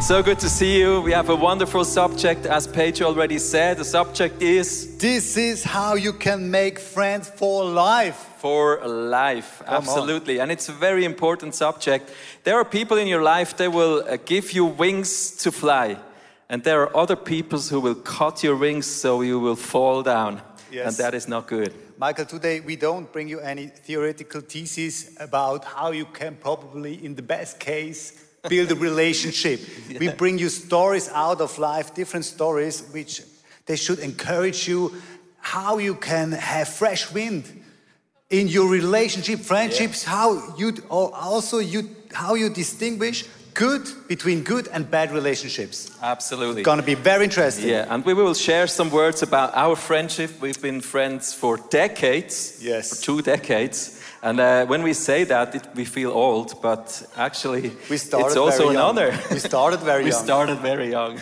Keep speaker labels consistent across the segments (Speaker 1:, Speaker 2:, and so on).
Speaker 1: So good to see you. We have a wonderful subject, as Paige already said. The subject is...
Speaker 2: This is how you can make friends for life.
Speaker 1: For life, absolutely. And it's a very important subject. There are people in your life, they will give you wings to fly. And there are other people who will cut your wings so you will fall down.
Speaker 2: Yes.
Speaker 1: And that is not good.
Speaker 2: Michael, today we don't bring you any theoretical thesis about how you can probably, in the best case, build a relationship. Yeah. We bring you stories out of life, different stories, which they should encourage you how you can have fresh wind in your relationship, friendships, how you distinguish between good and bad relationships.
Speaker 1: Absolutely.
Speaker 2: It's going to be very interesting.
Speaker 1: Yeah, and we will share some words about our friendship. We've been friends for decades.
Speaker 2: Yes.
Speaker 1: For 2 decades. And when we say that, we feel old, but actually it's also an honor.
Speaker 2: We started very young.
Speaker 1: We started very young.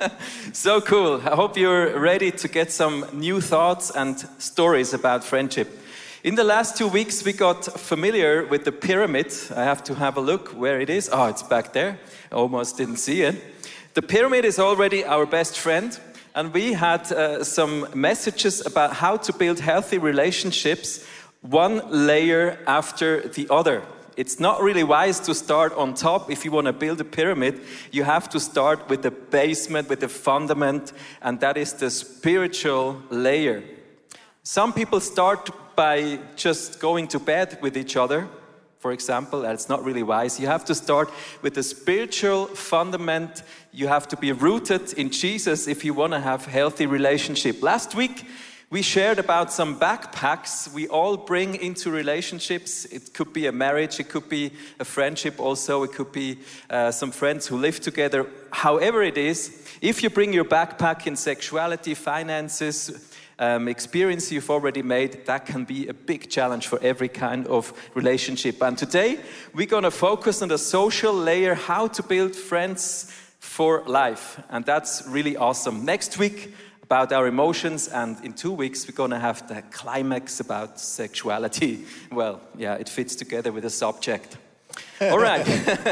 Speaker 1: So cool. I hope you're ready to get some new thoughts and stories about friendship. In the last 2 weeks, we got familiar with the pyramid. I have to have a look where it is. Oh, it's back there. I almost didn't see it. The pyramid is already our best friend. And we had some messages about how to build healthy relationships, one layer after the other. It's not really wise to start on top. If you want to build a pyramid, you have to start with the basement, with the fundament, and that is the spiritual layer. Some people start by just going to bed with each other, for example. That's not really wise. You have to start with the spiritual fundament. You have to be rooted in Jesus if you want to have healthy relationship. Last week, we shared about some backpacks we all bring into relationships. It could be a marriage, it could be a friendship also, it could be some friends who live together. However it is, if you bring your backpack in sexuality, finances, experience you've already made, that can be a big challenge for every kind of relationship. And today, we're going to focus on the social layer, how to build friends for life. And that's really awesome. Next week, about our emotions, and in 2 weeks we're going to have the climax about sexuality. Well, yeah, it fits together with the subject. All right.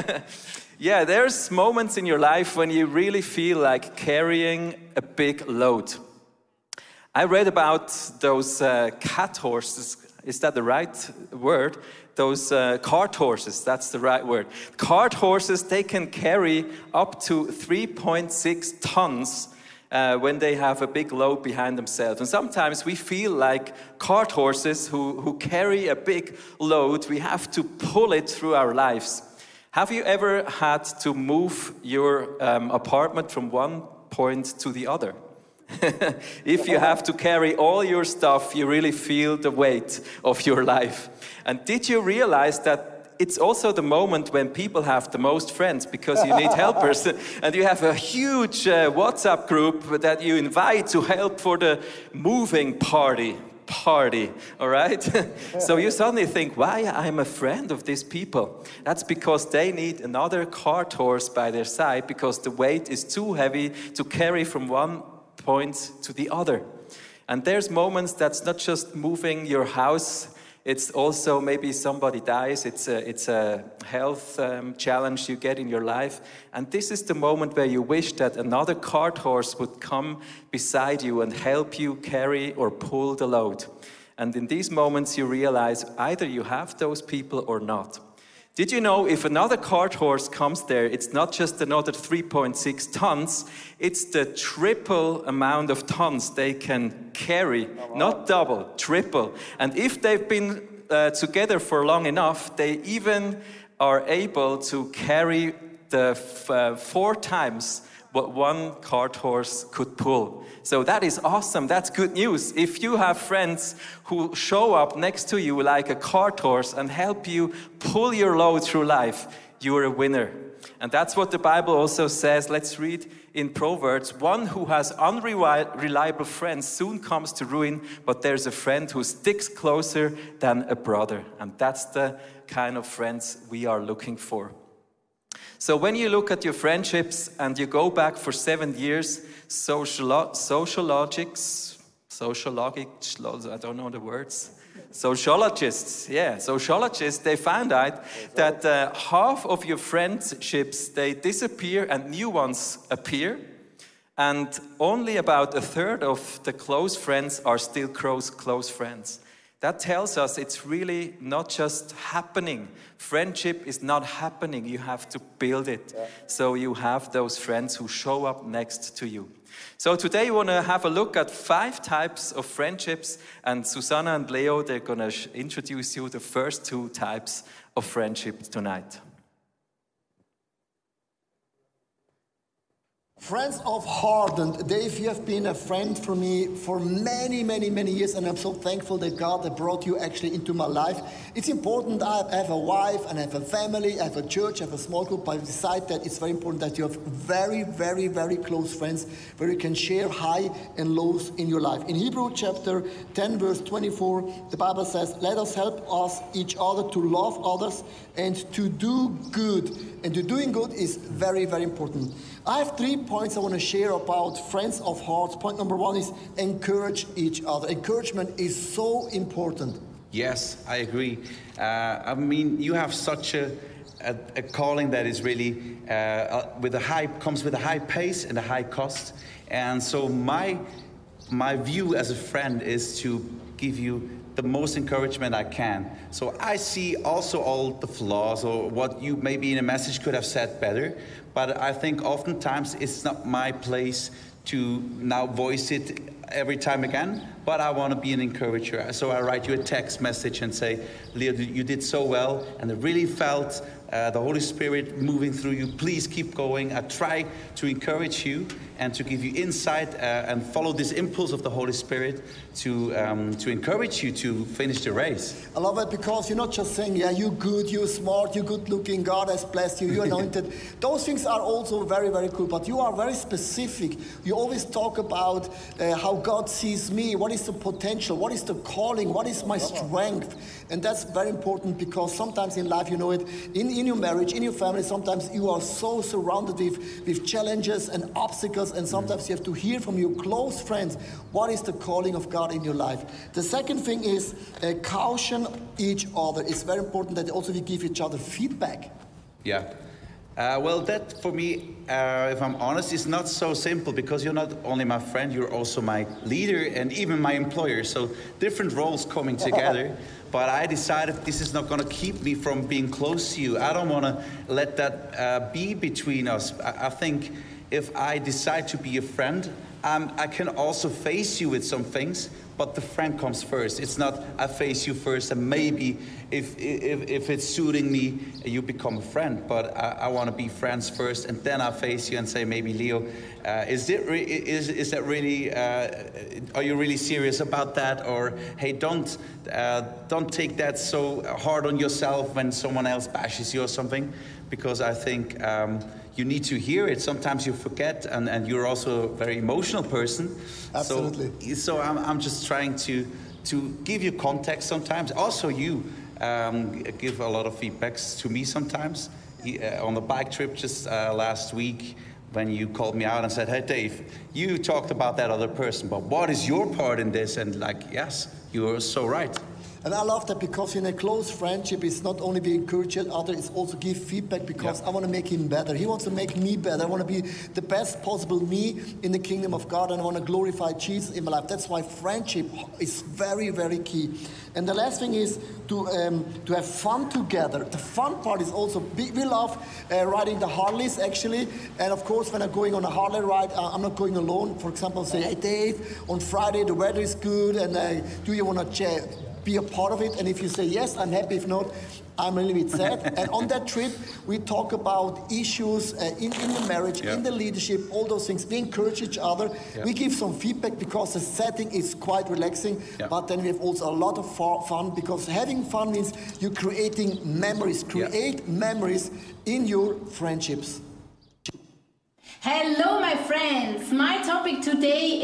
Speaker 1: Yeah, there's moments in your life when you really feel like carrying a big load. I read about those cat horses. Is that the right word? Those cart horses, that's the right word. Cart horses, they can carry up to 3.6 tons when they have a big load behind themselves. And sometimes we feel like cart horses who carry a big load. We have to pull it through our lives. Have you ever had to move your apartment from one point to the other? If you have to carry all your stuff, you really feel the weight of your life. And did you realize that it's also the moment when people have the most friends, because you need helpers, and you have a huge WhatsApp group that you invite to help for the moving party, all right? So you suddenly think, why I'm a friend of these people? That's because they need another cart horse by their side, because the weight is too heavy to carry from one point to the other. And there's moments that's not just moving your house, it's also maybe somebody dies, it's a health challenge you get in your life. And this is the moment where you wish that another cart horse would come beside you and help you carry or pull the load. And in these moments you realize either you have those people or not. Did you know if another cart horse comes there, it's not just another 3.6 tons, it's the triple amount of tons they can carry, not double, triple. And if they've been together for long enough, they even are able to carry the 4 times what one cart horse could pull. So that is awesome. That's good news. If you have friends who show up next to you like a cart horse and help you pull your load through life, you're a winner. And that's what the Bible also says. Let's read in Proverbs. One who has unreliable friends soon comes to ruin, but there's a friend who sticks closer than a brother. And that's the kind of friends we are looking for. So when you look at your friendships and you go back for 7 years, sociologics, I don't know the words, Sociologists, they found out that half of your friendships, they disappear and new ones appear. And only about a third of the close friends are still close friends. That tells us it's really not just happening. Friendship is not happening. You have to build it. Yeah. So you have those friends who show up next to you. So today we want to have a look at 5 types of friendships. And Susanna and Leo, they're going to introduce you the first 2 types of friendship tonight.
Speaker 3: Friends of heart, and Dave, you have been a friend for me for many, many, many years, and I'm so thankful that God has brought you actually into my life. It's important. I have a wife, and I have a family, I have a church, I have a small group, but beside that, it's very important that you have very, very, very close friends where you can share high and lows in your life. In Hebrew chapter 10, verse 24, the Bible says, let us help each other to love others and to do good. And to doing good is very, very important. I have 3 points I want to share about friends of hearts. Point number 1 is encourage each other. Encouragement is so important.
Speaker 4: Yes, I agree. I mean, you have such a calling that is really comes with a high pace and a high cost. And so my view as a friend is to give you the most encouragement I can. So I see also all the flaws or what you maybe in a message could have said better, but I think oftentimes it's not my place to now voice it every time again, but I want to be an encourager. So I write you a text message and say, Leo, you did so well, and I really felt the Holy Spirit moving through you. Please keep going. I try to encourage you and to give you insight and follow this impulse of the Holy Spirit to encourage you to finish the race.
Speaker 3: I love it because you're not just saying, yeah, you're good, you're smart, you're good looking, God has blessed you, you're anointed. Those things are also very, very cool, but you are very specific. You always talk about how God sees me, what is the potential, what is the calling, what is my strength. And that's very important because sometimes in life, you know it, in your marriage, in your family, sometimes you are so surrounded with challenges and obstacles, and sometimes you have to hear from your close friends what is the calling of God in your life. The second thing is caution each other. It's very important that also we give each other feedback.
Speaker 4: Yeah. Well, that for me, if I'm honest, is not so simple because you're not only my friend, you're also my leader and even my employer. So different roles coming together. But I decided this is not going to keep me from being close to you. I don't want to let that be between us. I think if I decide to be a friend, I can also face you with some things, but the friend comes first. It's not I face you first and maybe if it's suiting me, you become a friend. But I want to be friends first and then I face you and say, maybe Leo, is that really, are you really serious about that? Or hey, don't take that so hard on yourself when someone else bashes you or something, because I think you need to hear it. Sometimes you forget, and you're also a very emotional person.
Speaker 3: Absolutely.
Speaker 4: So I'm just trying to give you context sometimes. Also you give a lot of feedbacks to me sometimes. On the bike trip just last week, when you called me out and said, hey Dave, you talked about that other person, but what is your part in this? And like, yes, you are so right.
Speaker 3: And I love that because in a close friendship, it's not only we encourage each other, it's also give feedback because I want to make him better. He wants to make me better. I want to be the best possible me in the kingdom of God, and I want to glorify Jesus in my life. That's why friendship is very, very key. And the last thing is to have fun together. The fun part is also, we love riding the Harleys actually. And of course, when I'm going on a Harley ride, I'm not going alone. For example, say, hey Dave, on Friday the weather is good, and do you want to be a part of it? And if you say yes, I'm happy. If not, I'm a little bit sad. And on that trip, we talk about issues in the marriage, in the leadership, all those things. We encourage each other. We give some feedback because the setting is quite relaxing. But then we have also a lot of fun, because having fun means you're creating memories. Create memories in your friendships.
Speaker 5: Hello, my friends. My topic today is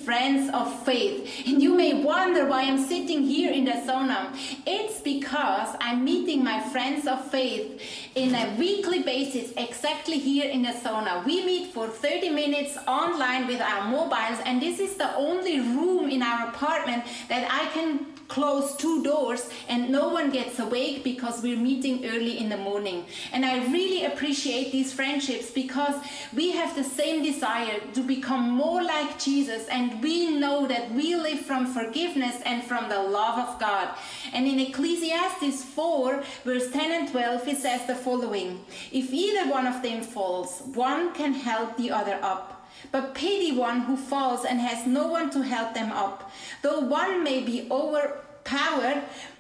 Speaker 5: Friends of Faith. And you may wonder why I'm sitting here in the sauna. It's because I'm meeting my friends of faith in a weekly basis, exactly here in the sauna. We meet for 30 minutes online with our mobiles, and this is the only room in our apartment that I can close 2 doors and no one gets awake because we're meeting early in the morning. And I really appreciate these friendships because we have the same desire to become more like Jesus, and we know that we live from forgiveness and from the love of God. And in Ecclesiastes 4 verse 10 and 12 it says the following: if either one of them falls, one can help the other up. But pity one who falls and has no one to help them up. Though one may be overpowered,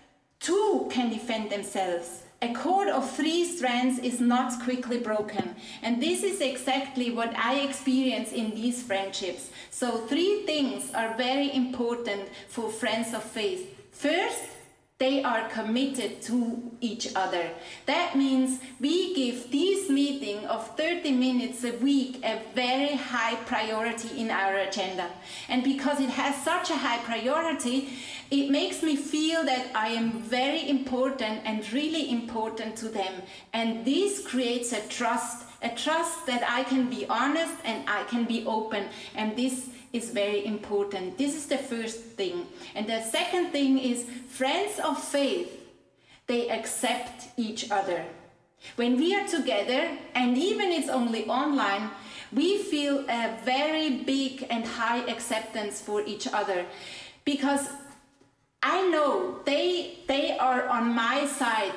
Speaker 5: 2 can defend themselves. A cord of 3 strands is not quickly broken. And this is exactly what I experience in these friendships. So 3 things are very important for friends of faith. First, they are committed to each other. That means we give this meeting of 30 minutes a week a very high priority in our agenda. And because it has such a high priority, it makes me feel that I am very important and really important to them. And this creates a trust that I can be honest and I can be open. And this is very important. This is the first thing. And the second thing is friends of faith, they accept each other. When we are together, and even it's only online, we feel a very big and high acceptance for each other, because I know they are on my side.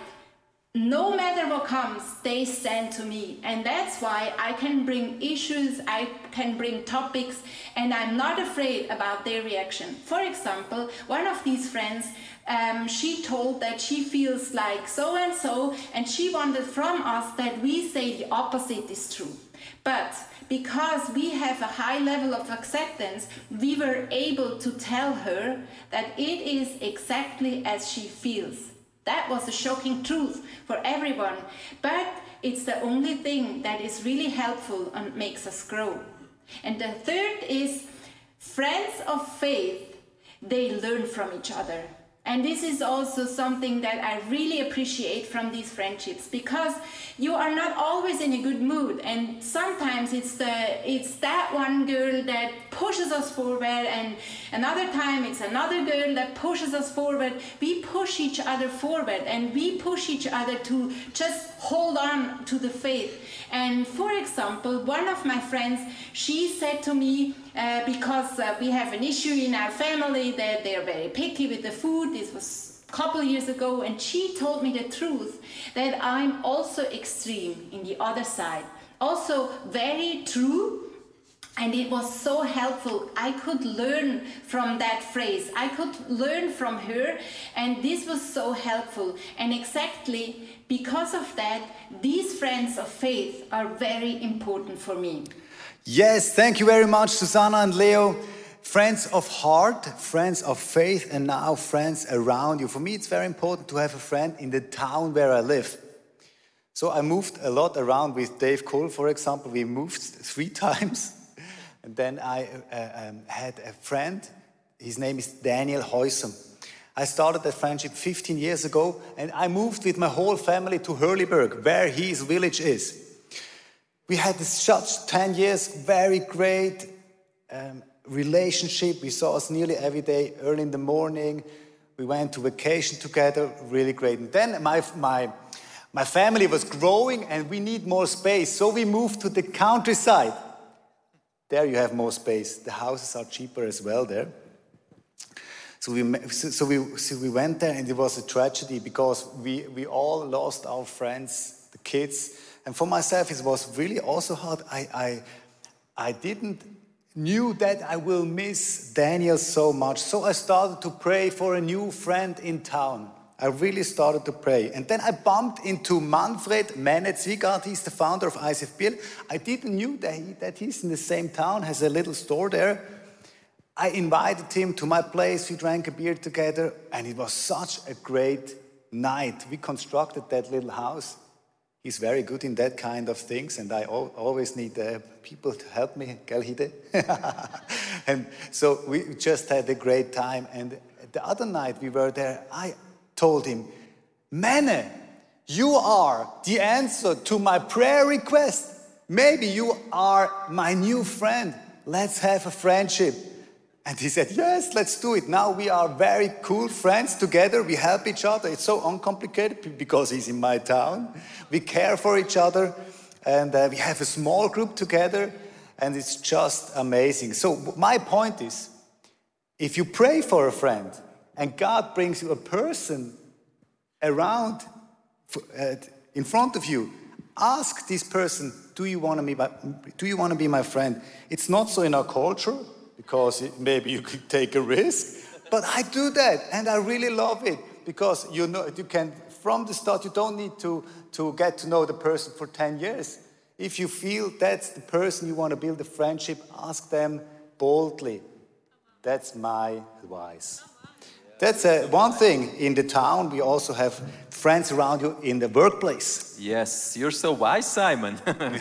Speaker 5: No matter what comes, they stand to me. And that's why I can bring issues, I can bring topics, and I'm not afraid about their reaction. For example, one of these friends, she told that she feels like so-and-so, and she wanted from us that we say the opposite is true. But because we have a high level of acceptance, we were able to tell her that it is exactly as she feels. That was a shocking truth for everyone, but it's the only thing that is really helpful and makes us grow. And the third is friends of faith, they learn from each other. And this is also something that I really appreciate from these friendships, because you are not always in a good mood, and sometimes it's that one girl that pushes us forward, and another time it's another girl that pushes us forward. We push each other forward, and we push each other to just hold on to the faith. And for example, one of my friends, she said to me, because we have an issue in our family that they're very picky with the food. This was a couple of years ago, and she told me the truth that I'm also extreme in the other side. Also very true. And it was so helpful. I could learn from that phrase. I could learn from her, and this was so helpful. And exactly because of that, these friends of faith are very important for me.
Speaker 2: Yes, thank you very much, Susanna and Leo. Friends of heart, friends of faith, and now friends around you. For me, it's very important to have a friend in the town where I live. So I moved a lot around with Dave Cole, for example. We moved 3 times. And then I had a friend, his name is Daniel Heusem. I started that friendship 15 years ago, and I moved with my whole family to Hurliberg, where his village is. We had such 10 years, very great relationship. We saw us nearly every day, early in the morning. We went to vacation together, really great. And then my family was growing, and we need more space, so we moved to the countryside. There you have more space. The houses are cheaper as well there. So we went there, and it was a tragedy because we all lost our friends, the kids. And for myself, it was really also hard. I didn't knew that I will miss Daniel so much. So I started to pray for a new friend in town. I really started to pray. And then I bumped into Manfred Menetz-Wiegard. He's the founder of ICF Biel. I didn't know that he's in the same town, has a little store there. I invited him to my place. We drank a beer together, and it was such a great night. We constructed that little house. He's very good in that kind of things, and I always need people to help me. Gell, Hide? And so we just had a great time. And the other night we were there, I told him, Mene, you are the answer to my prayer request. Maybe you are my new friend. Let's have a friendship. And he said, yes, let's do it. Now we are very cool friends together. We help each other. It's so uncomplicated because he's in my town. We care for each other. And we have a small group together. And it's just amazing. So my point is, if you pray for a friend and God brings you a person around in front of you, ask this person, do you want to be my friend? It's not so in our culture, because maybe you could take a risk, but I do that, and I really love it, because you can, from the start, you don't need to get to know the person for 10 years. If you feel that's the person you want to build a friendship, ask them boldly. That's my advice. That's one thing in the town. We also have friends around you in the workplace.
Speaker 1: Yes, you're so wise, Simon.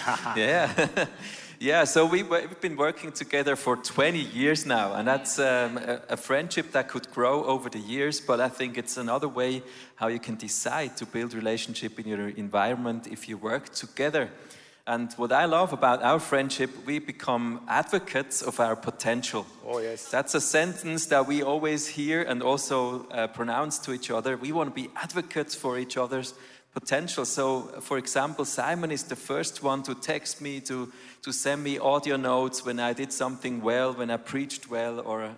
Speaker 1: Yeah. Yeah, so we've been working together for 20 years now, and that's a friendship that could grow over the years, but I think it's another way how you can decide to build relationship in your environment if you work together. And what I love about our friendship, we become advocates of our potential.
Speaker 2: Oh, yes.
Speaker 1: That's a sentence that we always hear and also pronounce to each other. We want to be advocates for each other's potential. So, for example, Simon is the first one to text me, to send me audio notes when I did something well, when I preached well, or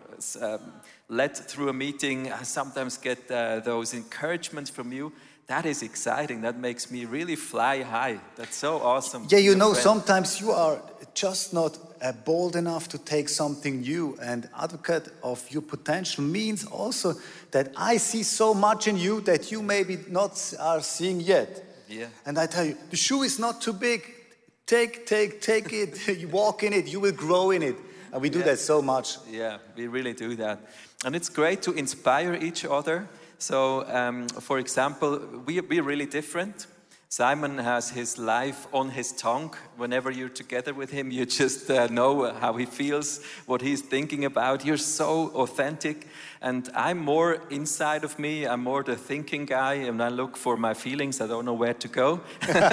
Speaker 1: led through a meeting. I sometimes get those encouragements from you. That is exciting. That makes me really fly high. That's so awesome.
Speaker 2: Yeah, you know, sometimes you are just not bold enough to take something new, and advocate of your potential means also that I see so much in you that you maybe not are seeing yet.
Speaker 1: Yeah.
Speaker 2: And I tell you, the shoe is not too big. Take it. You walk in it. You will grow in it. And we do that so much.
Speaker 1: Yeah, we really do that. And it's great to inspire each other. So, for example, we're really different. Simon has his life on his tongue. Whenever you're together with him, you just know how he feels, what he's thinking about. You're so authentic. And I'm more inside of me. I'm more the thinking guy, and I look for my feelings. I don't know where to go.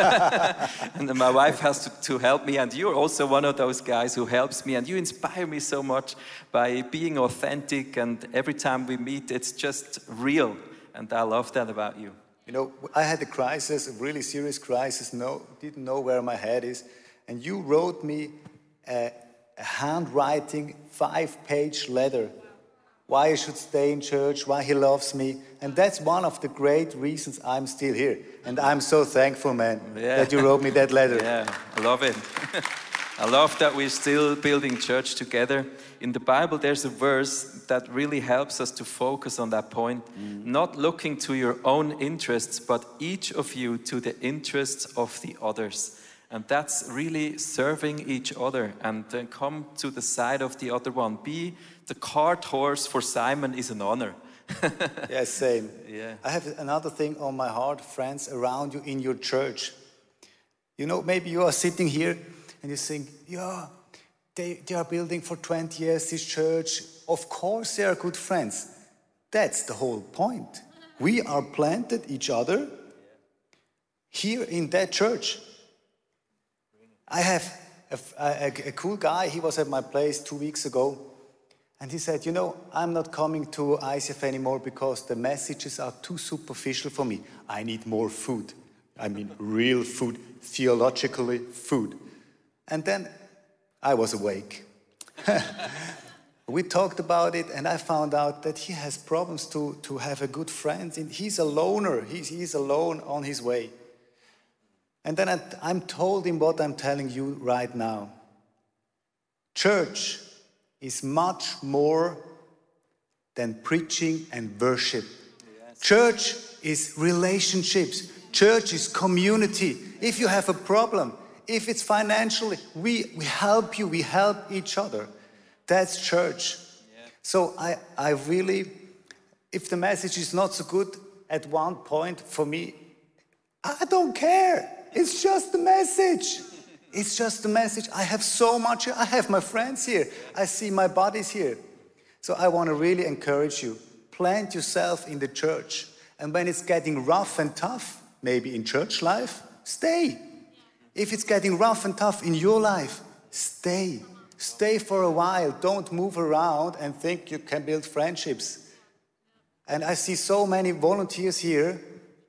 Speaker 1: And then my wife has to help me. And you're also one of those guys who helps me. And you inspire me so much by being authentic. And every time we meet, it's just real. And I love that about you.
Speaker 2: You know, I had a crisis, a really serious crisis, didn't know where my head is. And you wrote me a handwriting 5-page letter. Why I should stay in church, why he loves me. And that's one of the great reasons I'm still here. And I'm so thankful, man, that you wrote me that letter.
Speaker 1: Yeah, I love it. I love that we're still building church together. In the Bible, there's a verse that really helps us to focus on that point. Not looking to your own interests, but each of you to the interests of the others. And that's really serving each other and come to the side of the other one. Be the cart horse for Simon is an honor.
Speaker 2: Yeah, same.
Speaker 1: Yeah.
Speaker 2: I have another thing on my heart, friends around you in your church. You know, maybe you are sitting here and you think, yeah, they are building for 20 years this church. Of course they are good friends. That's the whole point. We are planted each other here in that church. I have a cool guy, he was at my place 2 weeks ago, and he said, you know, I'm not coming to ICF anymore because the messages are too superficial for me. I need more food. I mean, real food, theologically food. And then I was awake. We talked about it, and I found out that he has problems to have a good friend. He's a loner. He's alone on his way. And then I'm told him what I'm telling you right now. Church is much more than preaching and worship. Yes. Church is relationships. Church is community. If you have a problem, if it's financially, we help you, we help each other. That's church. Yeah. So I really, if the message is not so good at one point for me, I don't care. It's just the message. It's just a message. I have so much here. I have my friends here. I see my buddies here. So I want to really encourage you. Plant yourself in the church. And when it's getting rough and tough, maybe in church life, stay. If it's getting rough and tough in your life, stay. Stay for a while. Don't move around and think you can build friendships. And I see so many volunteers here,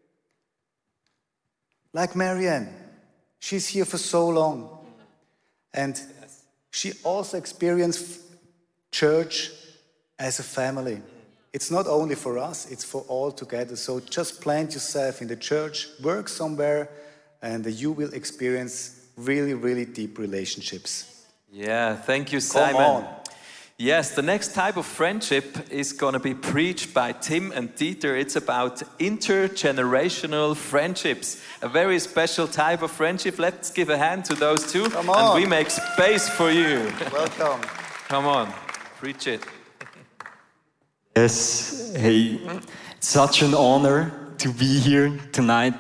Speaker 2: like Marianne. She's here for so long. And she also experienced church as a family. It's not only for us, it's for all together. So just plant yourself in the church, work somewhere, and you will experience really, really deep relationships.
Speaker 1: Yeah, thank you, Simon.
Speaker 2: Come on.
Speaker 1: Yes, the next type of friendship is going to be preached by Tim and Dieter. It's about intergenerational friendships, a very special type of friendship. Let's give a hand to those two,
Speaker 2: Come on.
Speaker 1: and we make space for you.
Speaker 2: Welcome.
Speaker 1: Come on, preach it.
Speaker 6: Yes, hey, it's such an honor to be here tonight.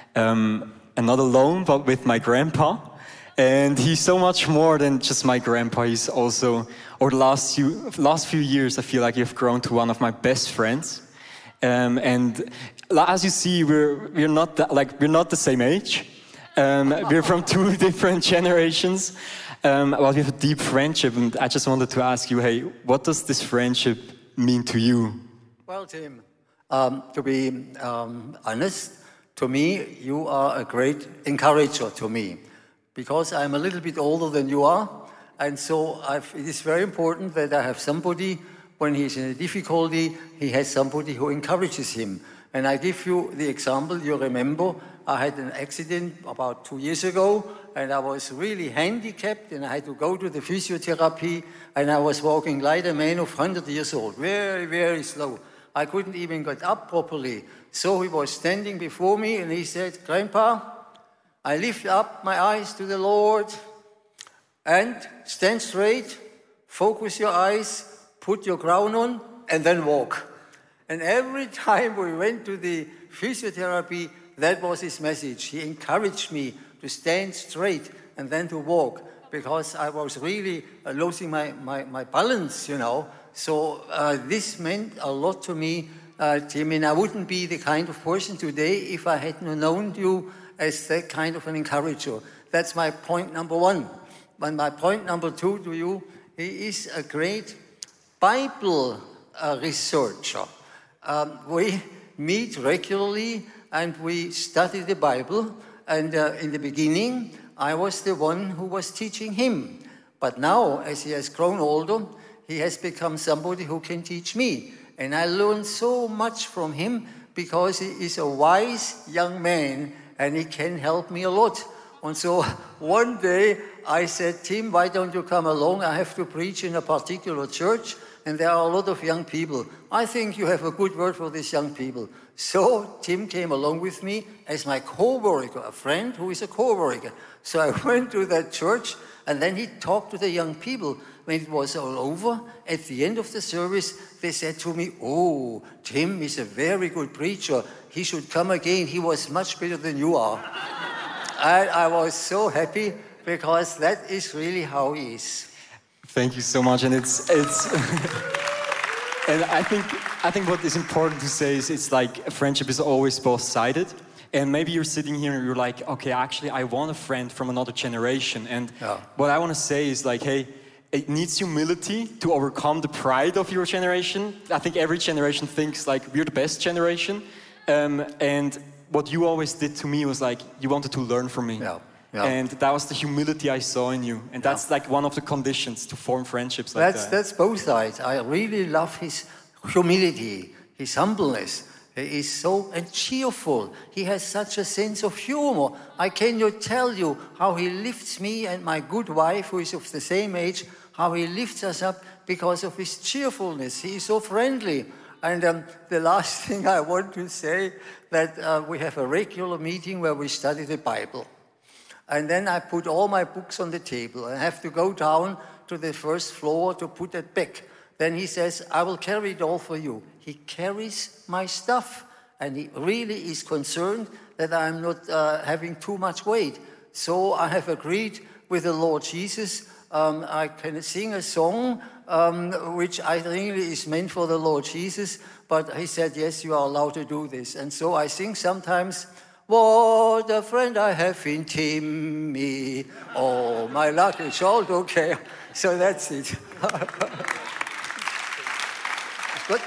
Speaker 6: Not alone, but with my grandpa. And he's so much more than just my grandpa. He's also, over the last few years, I feel like you've grown to one of my best friends. And as you see, we're not the same age. We're from two different generations. Well, we have a deep friendship, and I just wanted to ask you, hey, what does this friendship mean to you?
Speaker 7: Well, Tim, to be honest, to me, you are a great encourager to me, because I'm a little bit older than you are, and so it is very important that I have somebody, when he's in a difficulty, he has somebody who encourages him. And I give you the example, you remember, I had an accident about 2 years ago, and I was really handicapped, and I had to go to the physiotherapy, and I was walking like a man of 100 years old, very, very slow. I couldn't even get up properly. So he was standing before me, and he said, "Grandpa, I lift up my eyes to the Lord, and stand straight, focus your eyes, put your crown on, and then walk." And every time we went to the physiotherapy, that was his message. He encouraged me to stand straight and then to walk, because I was really losing my balance, you know. So this meant a lot to me, Tim, and I wouldn't be the kind of person today if I hadn't known you as that kind of an encourager. That's my point number one. And my point number two to you, he is a great Bible researcher. We meet regularly and we study the Bible. And in the beginning, I was the one who was teaching him. But now, as he has grown older, he has become somebody who can teach me. And I learned so much from him, because he is a wise young man and he can help me a lot. And so one day I said, "Tim, why don't you come along? I have to preach in a particular church, and there are a lot of young people. I think you have a good word for these young people." So Tim came along with me as my co-worker, a friend who is a co-worker. So I went to that church, and then he talked to the young people. When it was all over, at the end of the service, they said to me, "Oh, Tim is a very good preacher. He should come again. He was much better than you are." And I was so happy, because that is really how he is.
Speaker 6: Thank you so much, and it's and I think what is important to say is, it's like a friendship is always both-sided. And maybe you're sitting here and you're like, "Okay, actually, I want a friend from another generation." And what I want to say is like, hey, it needs humility to overcome the pride of your generation. I think every generation thinks like we're the best generation. And what you always did to me was like, you wanted to learn from me. And that was the humility I saw in you. And that's like one of the conditions to form friendships like that.
Speaker 7: That's both sides. I really love his humility, his humbleness. He is so cheerful. He has such a sense of humor. I cannot tell you how he lifts me and my good wife, who is of the same age, how he lifts us up because of his cheerfulness. He is so friendly. And the last thing I want to say, that we have a regular meeting where we study the Bible. And then I put all my books on the table. I have to go down to the first floor to put it back. Then he says, "I will carry it all for you." He carries my stuff, and he really is concerned that I'm not having too much weight. So I have agreed, with the Lord Jesus. I can sing a song which I think is meant for the Lord Jesus, but he said, yes, you are allowed to do this. And so I sing sometimes, what a friend I have in Timmy. Oh, my luck is all okay. So that's it. Good.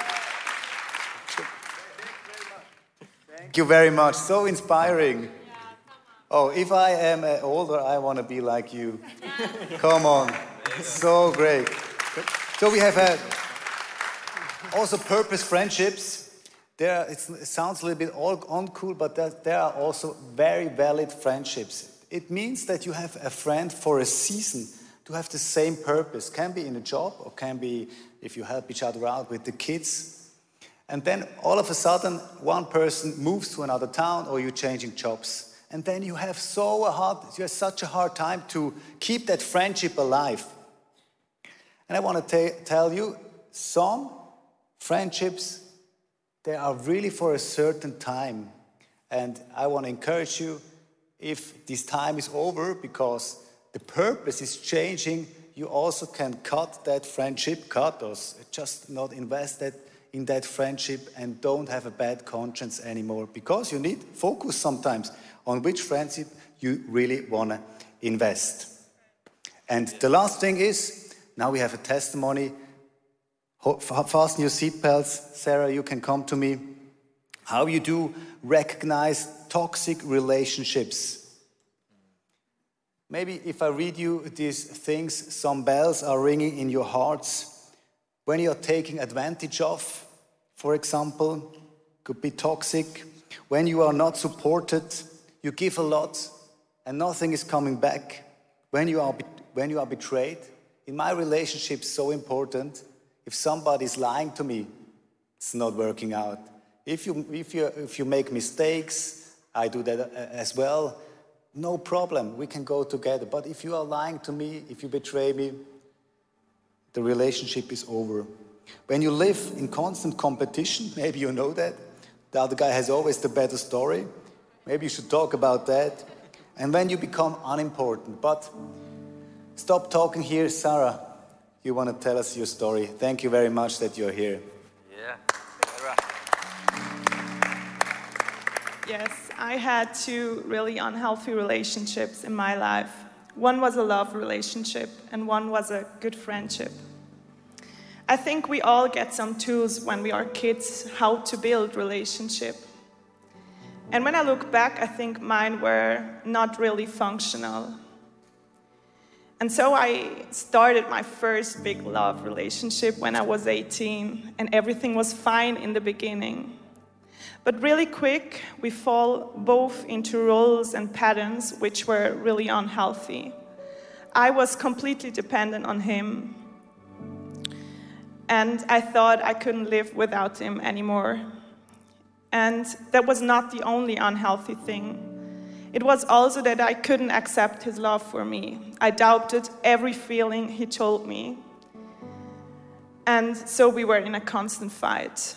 Speaker 2: Thank you very much. So inspiring. Oh, if I am older, I want to be like you. Come on. So great. So we have also purpose friendships. It sounds a little bit uncool, but there are also very valid friendships. It means that you have a friend for a season to have the same purpose. Can be in a job, or can be if you help each other out with the kids. And then all of a sudden, one person moves to another town, or you're changing jobs. And then you have such a hard time to keep that friendship alive. And I want to tell you, some friendships, they are really for a certain time. And I want to encourage you, if this time is over, because the purpose is changing, you also can cut that friendship, or just not invest in that friendship and don't have a bad conscience anymore, because you need focus sometimes on which friendship you really want to invest. And the last thing is, now we have a testimony. Fasten your seatbelts. Sarah, you can come to me. How you do recognize toxic relationships. Maybe if I read you these things, some bells are ringing in your hearts. When you're taking advantage of, for example, could be toxic. When you are not supported, you give a lot and nothing is coming back. When you are betrayed. In my relationship, it's so important. If somebody is lying to me, it's not working out. If you make mistakes, I do that as well. No problem, we can go together. But if you are lying to me, if you betray me, the relationship is over. When you live in constant competition, maybe you know that. The other guy has always the better story. Maybe you should talk about that. And when you become unimportant. But stop talking here. Sarah, you want to tell us your story. Thank you very much that you're here.
Speaker 1: Yeah.
Speaker 8: Yes, I had two really unhealthy relationships in my life. One was a love relationship and one was a good friendship. I think we all get some tools when we are kids how to build relationship. And when I look back, I think mine were not really functional. And so I started my first big love relationship when I was 18, and everything was fine in the beginning. But really quick, we fall both into roles and patterns which were really unhealthy. I was completely dependent on him, and I thought I couldn't live without him anymore. And that was not the only unhealthy thing. It was also that I couldn't accept his love for me. I doubted every feeling he told me. And so we were in a constant fight.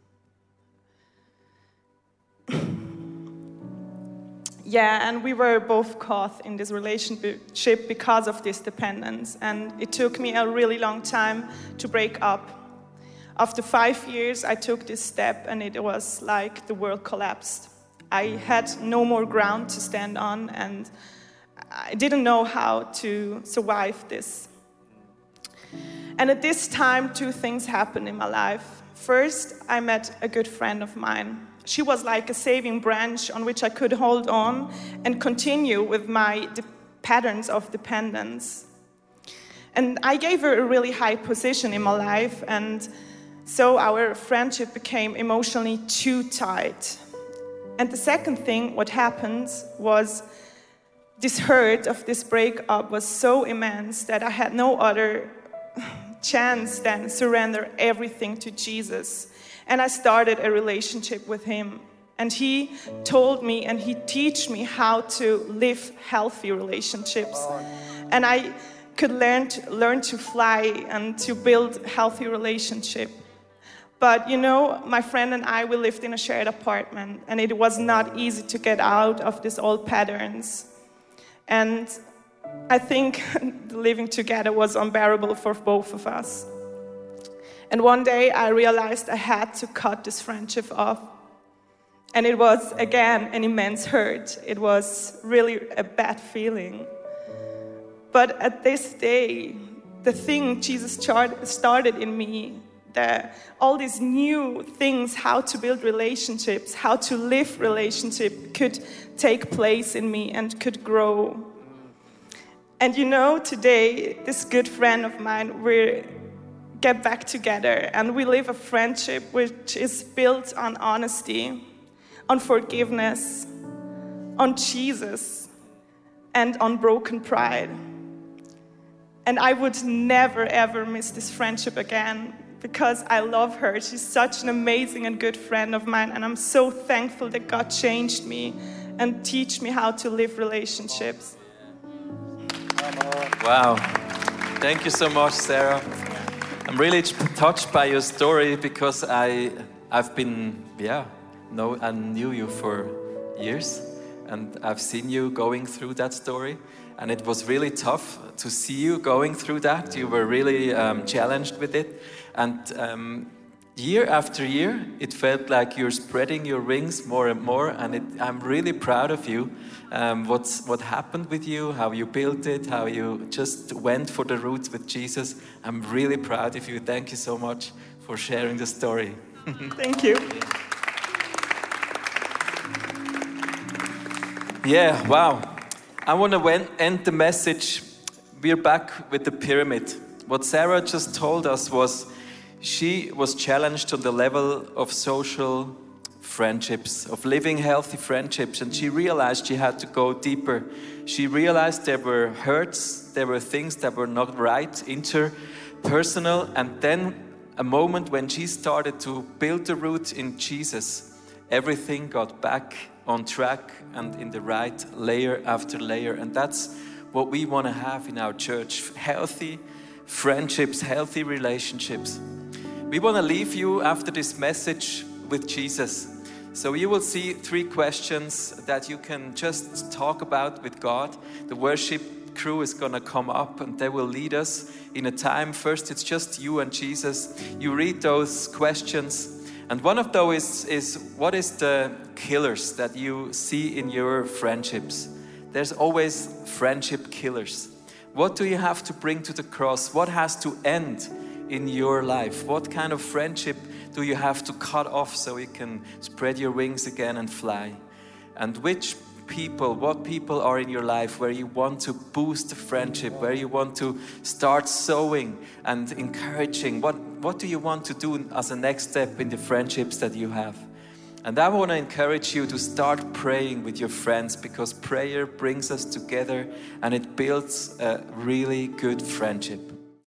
Speaker 8: Yeah, and we were both caught in this relationship because of this dependence. And it took me a really long time to break up. After 5 years, I took this step, and it was like the world collapsed. I had no more ground to stand on, and I didn't know how to survive this. And at this time, two things happened in my life. First, I met a good friend of mine. She was like a saving branch on which I could hold on and continue with my patterns of dependence. And I gave her a really high position in my life, and so our friendship became emotionally too tight. And the second thing, what happened was this hurt of this breakup was so immense that I had no other chance than surrender everything to Jesus. And I started a relationship with him. And he told me and he taught me how to live healthy relationships. And I could learn to fly and to build healthy relationship. But you know, my friend and I, we lived in a shared apartment, and it was not easy to get out of these old patterns. And I think living together was unbearable for both of us. And one day I realized I had to cut this friendship off. And it was, again, an immense hurt. It was really a bad feeling. But at this day, the thing Jesus started in me, all these new things, how to build relationships, how to live relationship, could take place in me and could grow. And you know, today, this good friend of mine, we get back together and we live a friendship which is built on honesty, on forgiveness, on Jesus, and on broken pride. And I would never, ever miss this friendship again, because I love her. She's such an amazing and good friend of mine, and I'm so thankful that God changed me and teach me how to live relationships.
Speaker 1: Wow. Thank you so much, Sarah. I'm really touched by your story, because I knew you for years, and I've seen you going through that story, and it was really tough to see you going through that. You were really challenged with it, and year after year, it felt like you're spreading your wings more and more, and I'm really proud of you. What happened with you, how you built it, how you just went for the roots with Jesus. I'm really proud of you. Thank you so much for sharing the story.
Speaker 8: Thank you.
Speaker 1: Yeah, wow. I want to end the message. We're back with the pyramid. What Sarah just told us was she was challenged on the level of social friendships, of living healthy friendships, and she realized she had to go deeper. She realized there were hurts, there were things that were not right, interpersonal, and then a moment when she started to build the root in Jesus, everything got back on track and in the right layer after layer. And that's what we want to have in our church: healthy friendships, healthy relationships. We want to leave you after this message with Jesus. So you will see 3 questions that you can just talk about with God. The worship crew is going to come up and they will lead us in a time. First, it's just you and Jesus. You read those questions. And one of those is what is the killers that you see in your friendships? There's always friendship killers. What do you have to bring to the cross? What has to end in your life? What kind of friendship do you have to cut off so you can spread your wings again and fly? And what people are in your life where you want to boost the friendship, where you want to start sowing and encouraging? What do you want to do as a next step in the friendships that you have? And I want to encourage you to start praying with your friends, because prayer brings us together and it builds a really good friendship.